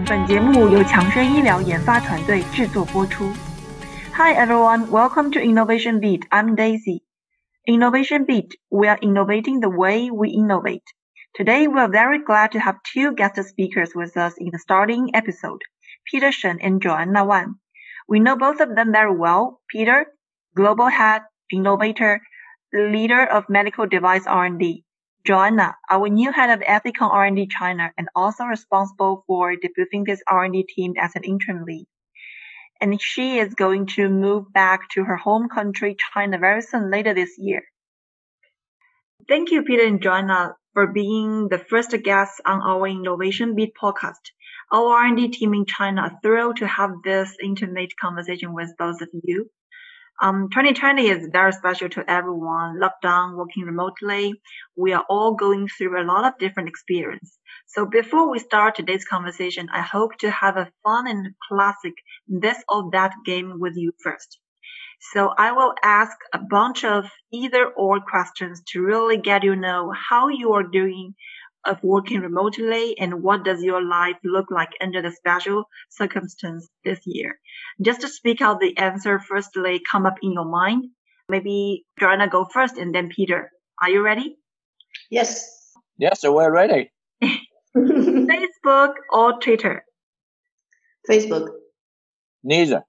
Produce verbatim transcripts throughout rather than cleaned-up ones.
本节目由强生医疗研发团队制作播出。Hi everyone, welcome to Innovation Beat. I'm Daisy. Innovation Beat, we are innovating the way we innovate. Today we are very glad to have two guest speakers with us in the starting episode, Peter Shen and Joanna Wan. We know both of them very well. Peter, global head, innovator, leader of medical device R and D. Joanna, our new head of Ethicon R and D China and also responsible for debuting this R and D team as an interim lead. And she is going to move back to her home country, China, very soon later this year. Thank you, Peter and Joanna, for being the first guests on our Innovation Beat podcast. Our R and D team in China are thrilled to have this intimate conversation with both of you. Um, twenty twenty is very special to everyone. Lockdown, working remotely. We are all going through a lot of different experience. So before we start today's conversation, I hope to have a fun and classic this or that game with you first. So I will ask a bunch of either or questions to really get you know how you are doing of working remotely and what does your life look like under the special circumstance this year. Just to speak out the answer firstly come up in your mind. Maybe Joanna go first and then Peter. Are you ready? Yes. Yes, so we're ready. Facebook or Twitter? Facebook. Neither.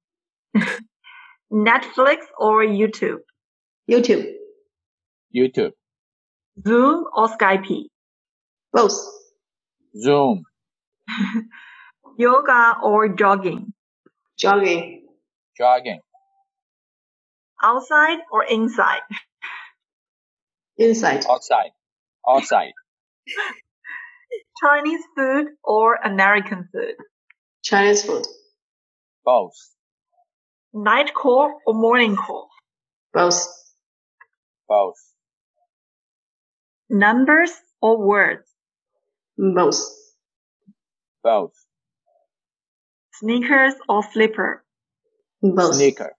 Netflix or YouTube? YouTube. YouTube. Zoom or Skype? Both. Zoom. Yoga or jogging? Jogging. Jogging. Outside or inside? Inside. Outside. Outside. Chinese food or American food? Chinese food. Both. Night call or morning call? Both. Both. Numbers or words? Both. Both. Sneakers or slipper? Both. Sneaker.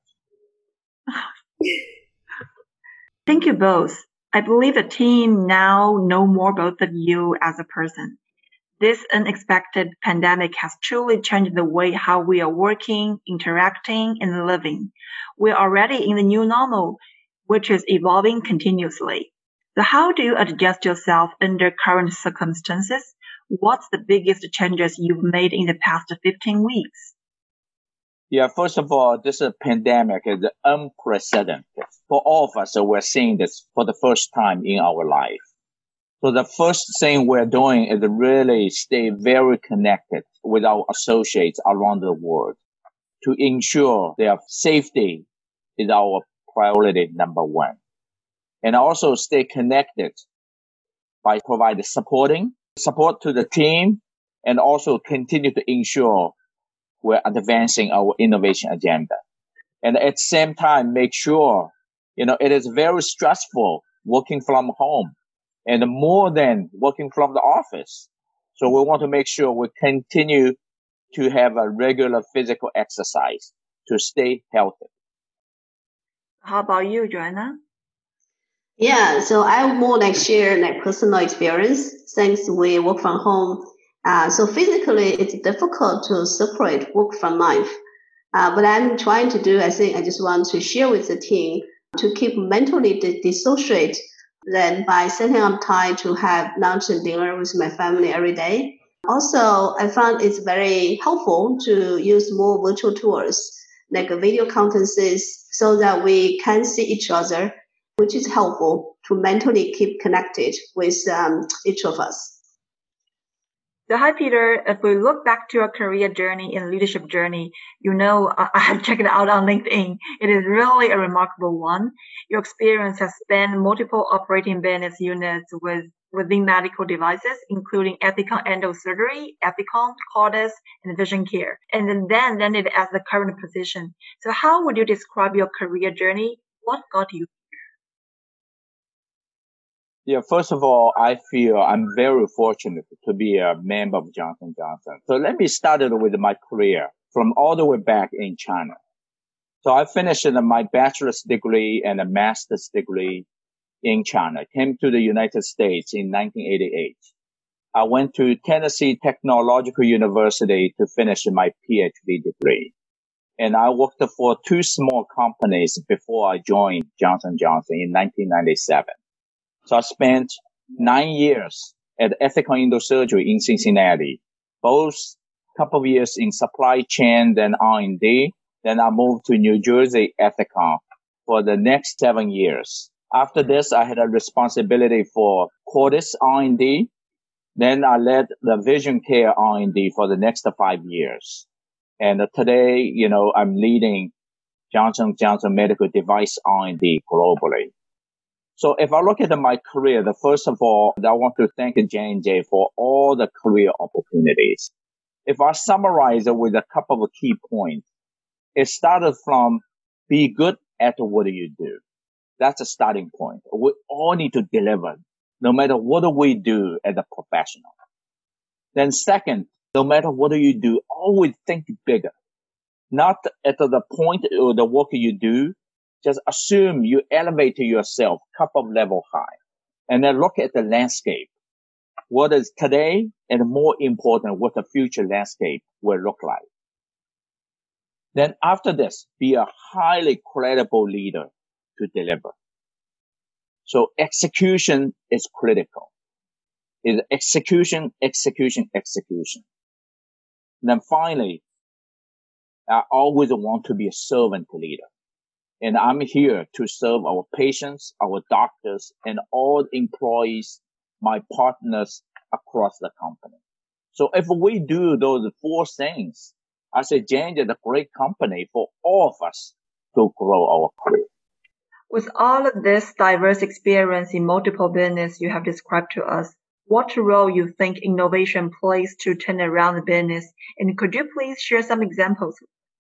Thank you both. I believe the team now know more both of you as a person. This unexpected pandemic has truly changed the way how we are working, interacting, and living. We are already in the new normal, which is evolving continuously. So how do you adjust yourself under current circumstances? What's the biggest changes you've made in the past fifteen weeks? Yeah, first of all, this pandemic is unprecedented. For all of us, we're seeing this for the first time in our life. So the first thing we're doing is really stay very connected with our associates around the world to ensure their safety is our priority number one. And also stay connected by providing supporting support to the team and also continue to ensure we're advancing our innovation agenda. And at the same time, make sure, you know, it is very stressful working from home and more than working from the office. So we want to make sure we continue to have a regular physical exercise to stay healthy. How about you, Joanna? Yeah, so I more like share like personal experience since we work from home. Uh, so physically, it's difficult to separate work from life. Uh, but I'm trying to do, I think I just want to share with the team to keep mentally di- dissociate then by setting up time to have lunch and dinner with my family every day. Also, I found it's very helpful to use more virtual tools like video conferences so that we can see each other, which is helpful to mentally keep connected with um, each of us. So hi, Peter. If we look back to your career journey and leadership journey, you know, I, I have checked it out on LinkedIn. It is really a remarkable one. Your experience has spanned multiple operating business units with within medical devices, including Ethicon Endosurgery, Ethicon, Cordis, and Vision Care, and then landed as the current position. So how would you describe your career journey? What got you? Yeah, first of all, I feel I'm very fortunate to be a member of Johnson and Johnson. So let me start with my career from all the way back in China. So I finished my bachelor's degree and a master's degree in China, came to the United States in nineteen eighty-eight. I went to Tennessee Technological University to finish my PhD degree. And I worked for two small companies before I joined Johnson and Johnson in nineteen ninety-seven. So I spent nine years at Ethicon Endosurgery in Cincinnati, both couple of years in supply chain, then R and D. Then I moved to New Jersey Ethicon for the next seven years. After this, I had a responsibility for Cordis R and D. Then I led the Vision Care R and D for the next five years. And today, you know, I'm leading Johnson and Johnson Medical Device R and D globally. So if I look at my career, the first of all, I want to thank J and J for all the career opportunities. If I summarize it with a couple of key points, it started from be good at what you do. That's a starting point. We all need to deliver, no matter what we do as a professional. Then second, no matter what you do, always think bigger. Not at the point of the work you do, just assume you elevate yourself a couple of level high. And then look at the landscape. What is today, and more important, what the future landscape will look like. Then after this, be a highly credible leader to deliver. So execution is critical. Is execution, execution, execution. Then finally, I always want to be a servant leader. And I'm here to serve our patients, our doctors, and all employees, my partners across the company. So if we do those four things, I say J and J is a great company for all of us to grow our career. With all of this diverse experience in multiple business you have described to us, what role you think innovation plays to turn around the business? And could you please share some examples?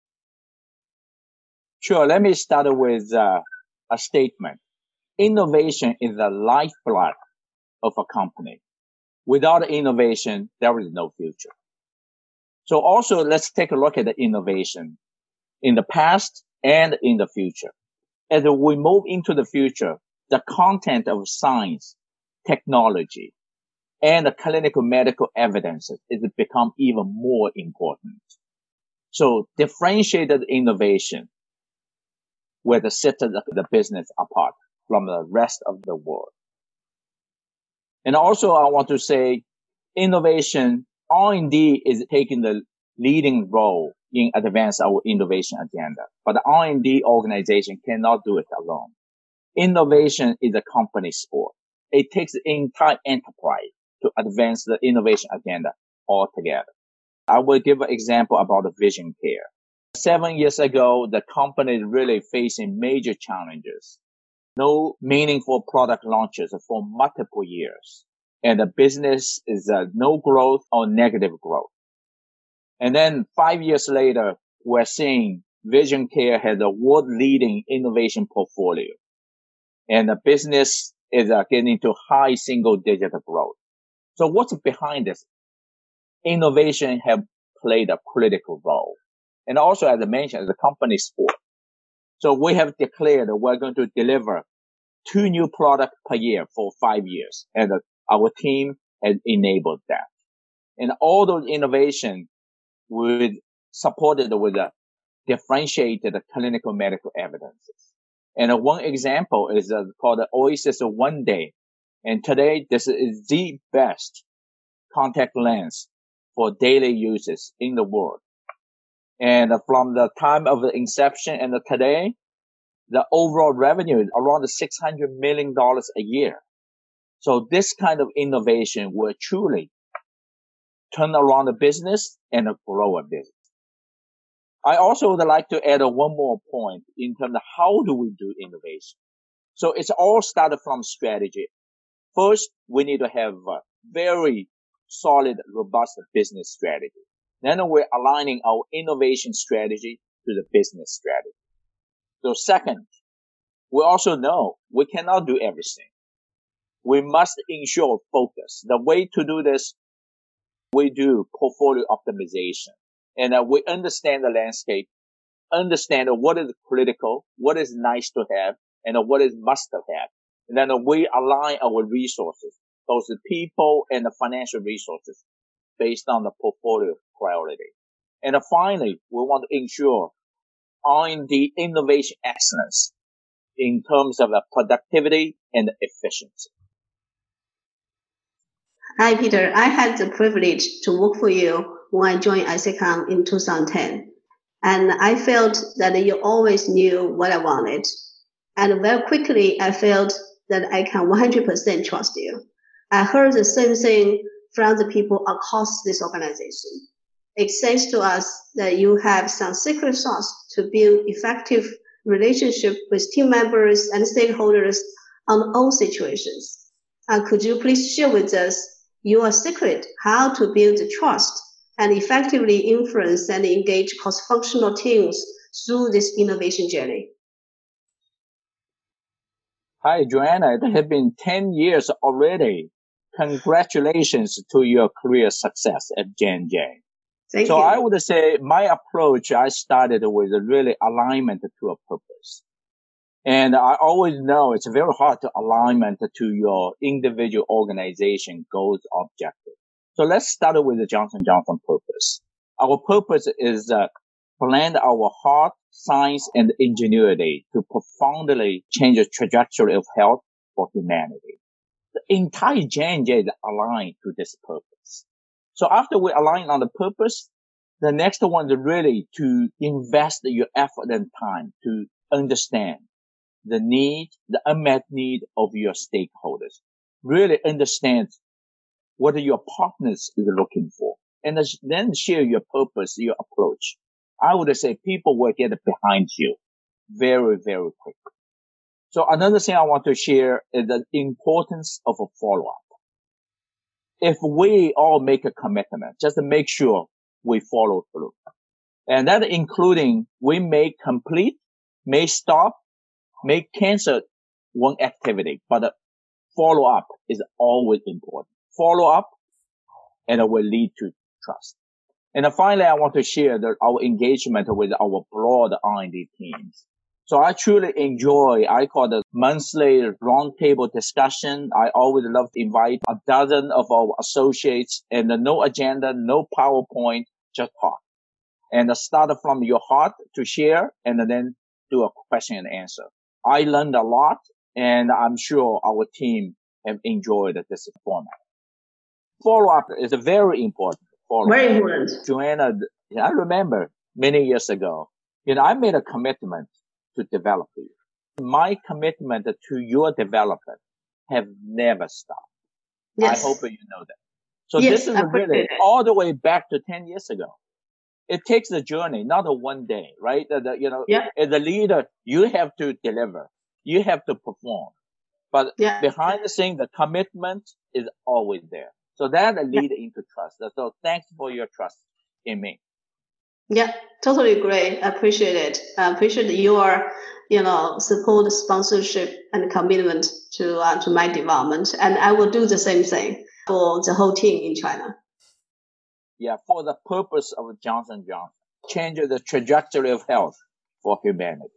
Sure. Let me start with uh, a statement. Innovation is the lifeblood of a company. Without innovation, there is no future. So also, let's take a look at the innovation in the past and in the future. As we move into the future, the content of science, technology, and the clinical medical evidence is become even more important. So differentiated innovation will set the, the business apart from the rest of the world. And also I want to say innovation, R and D is taking the leading role in advance our innovation agenda. But the R and D organization cannot do it alone. Innovation is a company sport. It takes the entire enterprise to advance the innovation agenda altogether. I will give an example about the Vision Care. Seven years ago, the company is really facing major challenges. No meaningful product launches for multiple years. And the business is uh, no growth or negative growth. And then five years later, we're seeing Vision Care has a world-leading innovation portfolio. And the business is uh, getting to high single-digit growth. So what's behind this? Innovation have played a critical role. And also, as I mentioned, as a company sport. So we have declared that we're going to deliver two new products per year for five years. And uh, our team has enabled that. And all those innovations were supported with a differentiated clinical medical evidences. And uh, one example is uh, called the Oasis One Day. And today, this is the best contact lens for daily uses in the world. And uh, from the time of the inception and uh, today, the overall revenue is around six hundred million dollars a year. So this kind of innovation will truly turn around a business and uh, grow a business. I also would like to add uh, one more point in terms of how do we do innovation. So it's all started from strategy. First, we need to have a very solid, robust business strategy. Then we're aligning our innovation strategy to the business strategy. So second, we also know we cannot do everything. We must ensure focus. The way to do this, we do portfolio optimization. And uh, we understand the landscape, understand what is critical, what is nice to have, and uh, what is must to have. And then uh, we align our resources both the people and the financial resources based on the portfolio priority. And finally, we want to ensure R and D innovation excellence in terms of the productivity and efficiency. Hi, Peter. I had the privilege to work for you when I joined ISACOM in two thousand ten. And I felt that you always knew what I wanted. And very quickly, I felt that I can one hundred percent trust you. I heard the same thing from the people across this organization. It says to us that you have some secret sauce to build effective relationship with team members and stakeholders on all situations. Uh, could you please share with us your secret how to build trust and effectively influence and engage cross-functional teams through this innovation journey? Hi, Joanna. It has been ten years already. Congratulations to your career success at J and J. Thank so you. I would say my approach, I started with a really alignment to a purpose. And I always know it's very hard to alignment to your individual organization goals, objectives. So let's start with the Johnson and Johnson purpose. Our purpose is uh, blend our heart, science, and ingenuity to profoundly change the trajectory of health for humanity. The entire J and J is aligned to this purpose. So after we align on the purpose, the next one is really to invest your effort and time to understand the need, the unmet need of your stakeholders. Really understand what your partners is looking for, and then share your purpose, your approach. I would say people will get behind you very, very quickly. So another thing I want to share is the importance of a follow-up. If we all make a commitment, just to make sure we follow through. And that including we may complete, may stop, may cancel one activity, but the follow-up is always important. Follow-up, and it will lead to trust. And finally, I want to share the, our engagement with our broad R and D teams. So I truly enjoy, I call it monthly roundtable discussion. I always love to invite a dozen of our associates and no agenda, no PowerPoint, just talk. And start from your heart to share and then do a question and answer. I learned a lot, and I'm sure our team have enjoyed this format. Follow-up is very important. Follow-up. Very important. Joanna, I remember many years ago, you know, I made a commitment to develop you. My commitment to your development have never stopped. Yes. I hope you know that. So yes, this is really all the way back to ten years ago. It takes a journey, not a one day, right? The, the, you know, yeah. as a leader, you have to deliver. You have to perform. But yeah. behind the scene, the commitment is always there. So that leads yeah. into trust. So thanks for your trust in me. Yeah, totally agree. I appreciate it. I appreciate your, you know, support, sponsorship, and commitment to uh, to my development. And I will do the same thing for the whole team in China. Yeah, for the purpose of Johnson and Johnson, change the trajectory of health for humanity.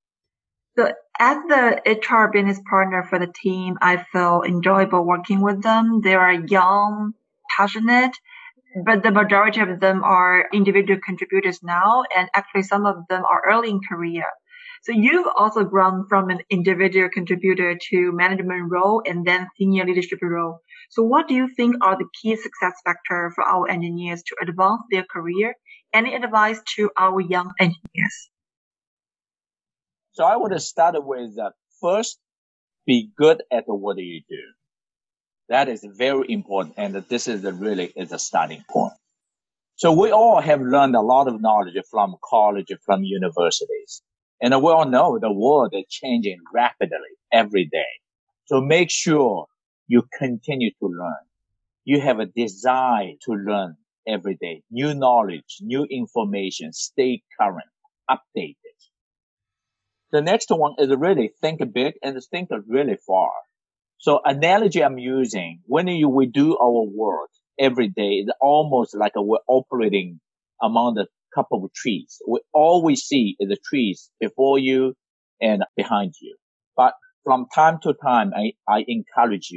So as the H R business partner for the team, I feel enjoyable working with them. They are young, passionate, but the majority of them are individual contributors now, and actually some of them are early in career. So you've also grown from an individual contributor to management role and then senior leadership role. So what do you think are the key success factors for our engineers to advance their career? Any advice to our young engineers? So I would start with uh, first, be good at what you do. That is very important, and this is the, really is a starting point. So we all have learned a lot of knowledge from college, from universities. And we all know the world is changing rapidly every day. So make sure you continue to learn. You have a desire to learn every day. New knowledge, new information, stay current, updated. The next one is really think big and think really far. So analogy I'm using, when you, we do our work every day, it's almost like we're operating among the couple of trees. We always see the trees before you and behind you. But from time to time, I, I encourage you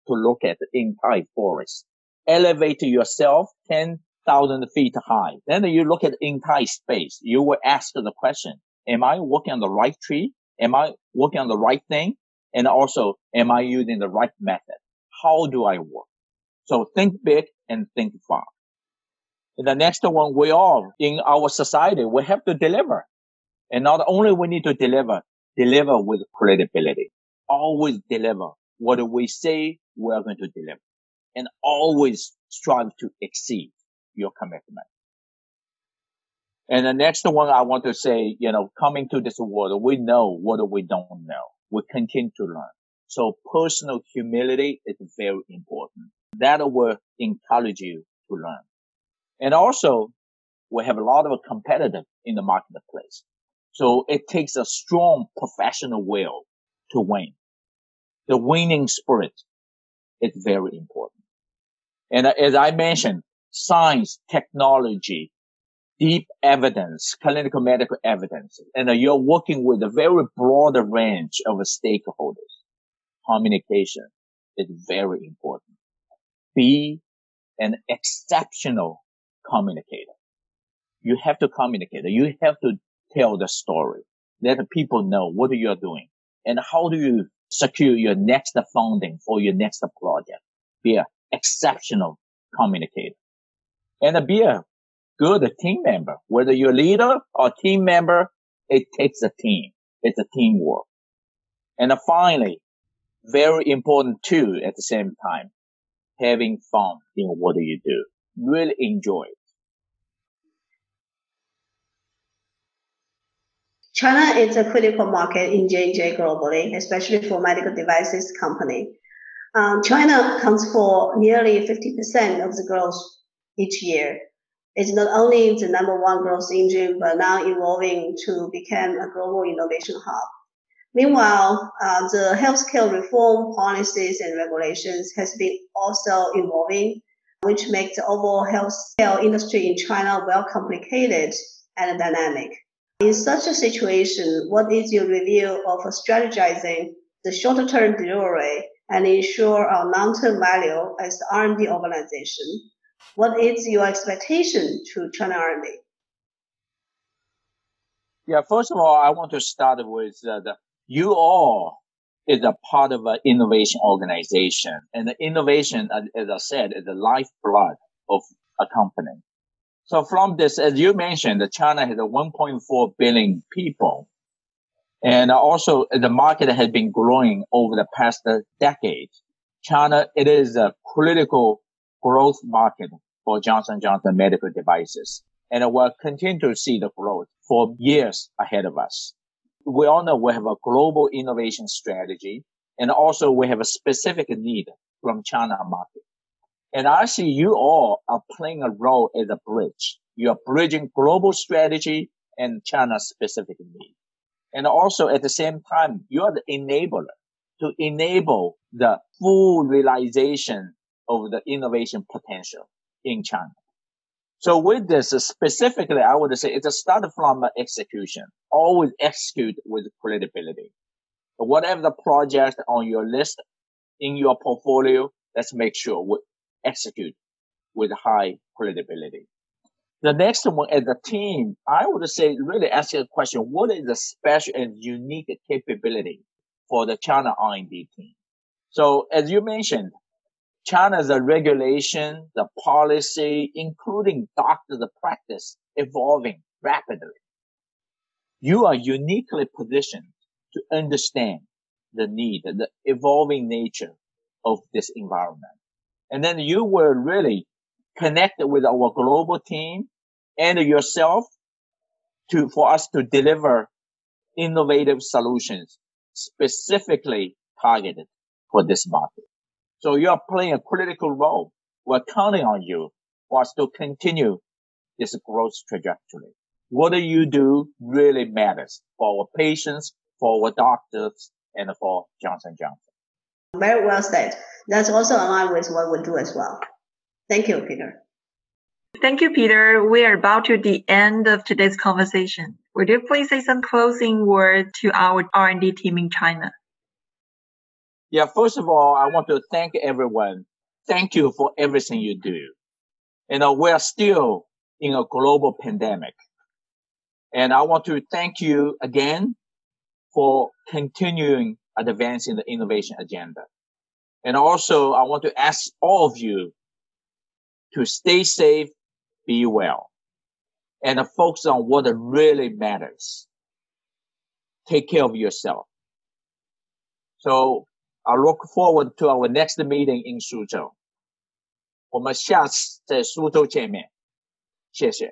to look at the entire forest. Elevate yourself ten thousand feet high. Then you look at the entire space. You will ask the question, am I working on the right tree? Am I working on the right thing? And also, am I using the right method? How do I work? So think big and think far. And the next one, we all in our society, we have to deliver. And not only we need to deliver, deliver with credibility. Always deliver what we say we're going to deliver. And always strive to exceed your commitment. And the next one I want to say, you know, coming to this world, we know what we don't know. We continue to learn. So personal humility is very important. That will encourage you to learn. And also, we have a lot of competitors in the marketplace. So it takes a strong professional will to win. The winning spirit is very important. And as I mentioned, science, technology, deep evidence, clinical medical evidence, and you're working with a very broad range of stakeholders. Communication is very important. Be an exceptional communicator. You have to communicate. You have to tell the story. Let people know what you're doing and how do you secure your next funding for your next project. Be an exceptional communicator and be a good team member. Whether you're a leader or team member, it takes a team. It's a teamwork. And finally, very important too at the same time, having fun in what you do. Really enjoy it. China is a critical market in J and J globally, especially for medical devices company. Um, China accounts for nearly fifty percent of the growth each year. It's not only the number one growth engine, but now evolving to become a global innovation hub. Meanwhile, uh, the healthcare reform policies and regulations has been also evolving, which makes the overall healthcare industry in China well complicated and dynamic. In such a situation, what is your review of strategizing the shorter-term delivery and ensure our long-term value as the R and D organization? What is your expectation to China R and D? Yeah, first of all, I want to start with uh, the you all is a part of an innovation organization. And the innovation, as I said, is the lifeblood of a company. So from this, as you mentioned, China has a one point four billion people. And also the market has been growing over the past decade. China, it is a critical growth market for Johnson and Johnson medical devices. And we'll continue to see the growth for years ahead of us. We all know we have a global innovation strategy, and also we have a specific need from China market. And I see you all are playing a role as a bridge. You are bridging global strategy and China's specific need. And also at the same time, you are the enabler to enable the full realization of the innovation potential in China. So with this, uh, specifically, I would say it's a start from uh, execution. Always execute with credibility. Whatever the project on your list, in your portfolio, let's make sure we execute with high credibility. The next one, as a team, I would say really ask you a question, what is the special and unique capability for the China R and D team? So as you mentioned, China's regulation, the policy, including doctors' practice, evolving rapidly. You are uniquely positioned to understand the need, the evolving nature of this environment. And then you will really connect with our global team and yourself to, for us to deliver innovative solutions specifically targeted for this market. So you are playing a critical role. We're counting on you for us to continue this growth trajectory. What do you do really matters for our patients, for our doctors, and for Johnson and Johnson. Very well said. That's also aligned with what we do as well. Thank you, Peter. Thank you, Peter. We are about to the end of today's conversation. Would you please say some closing words to our R and D team in China? Yeah, first of all, I want to thank everyone. Thank you for everything you do. You know, we're still in a global pandemic. And I want to thank you again for continuing advancing the innovation agenda. And also, I want to ask all of you to stay safe, be well, and focus on what really matters. Take care of yourself. So I look forward to our next meeting in 苏州。我们下次在苏州见面。谢谢。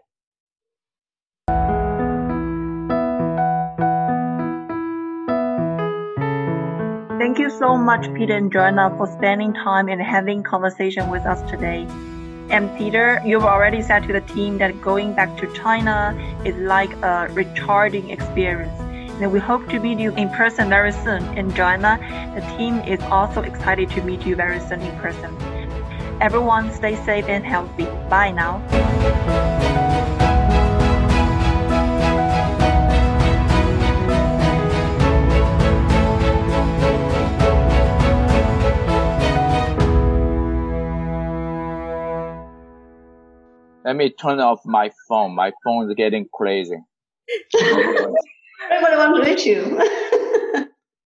Thank you so much, Peter and Joanna, for spending time and having conversation with us today. And Peter, you've already said to the team that going back to China is like a recharging experience. And we hope to meet you in person very soon. And Joanna, the team is also excited to meet you very soon in person. Everyone stay safe and healthy. Bye now. Let me turn off my phone. My phone is getting crazy. Everybody wants to reach you.